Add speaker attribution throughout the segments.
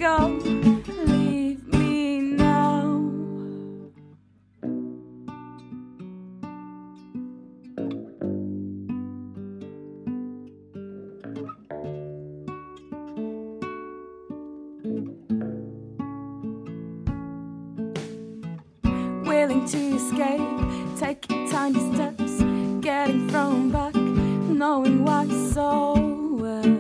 Speaker 1: go, leave me now. Willing to escape, taking tiny steps, getting thrown back, knowing why so well.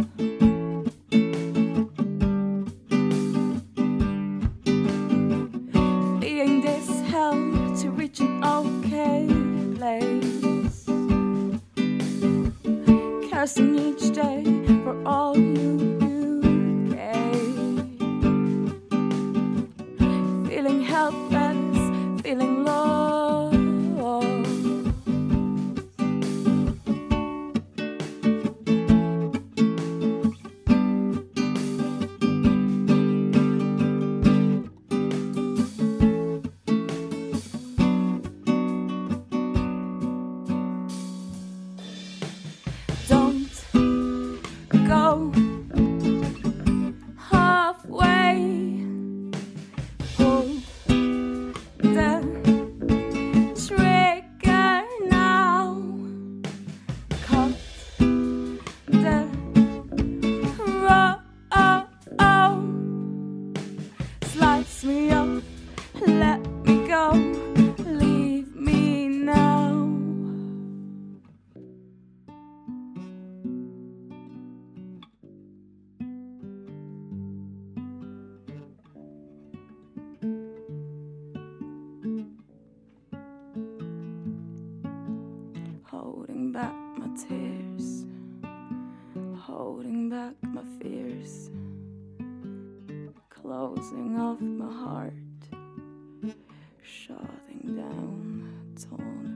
Speaker 1: Fleeing this hell to reach an okay place, cursing each day for all you gave, feeling helpless, feeling lost. Don't go halfway, pull the trigger now, cut the road, slice me up, let me go, leave me now. Holding back my tears, holding back my fears, closing off my heart, shutting down, torn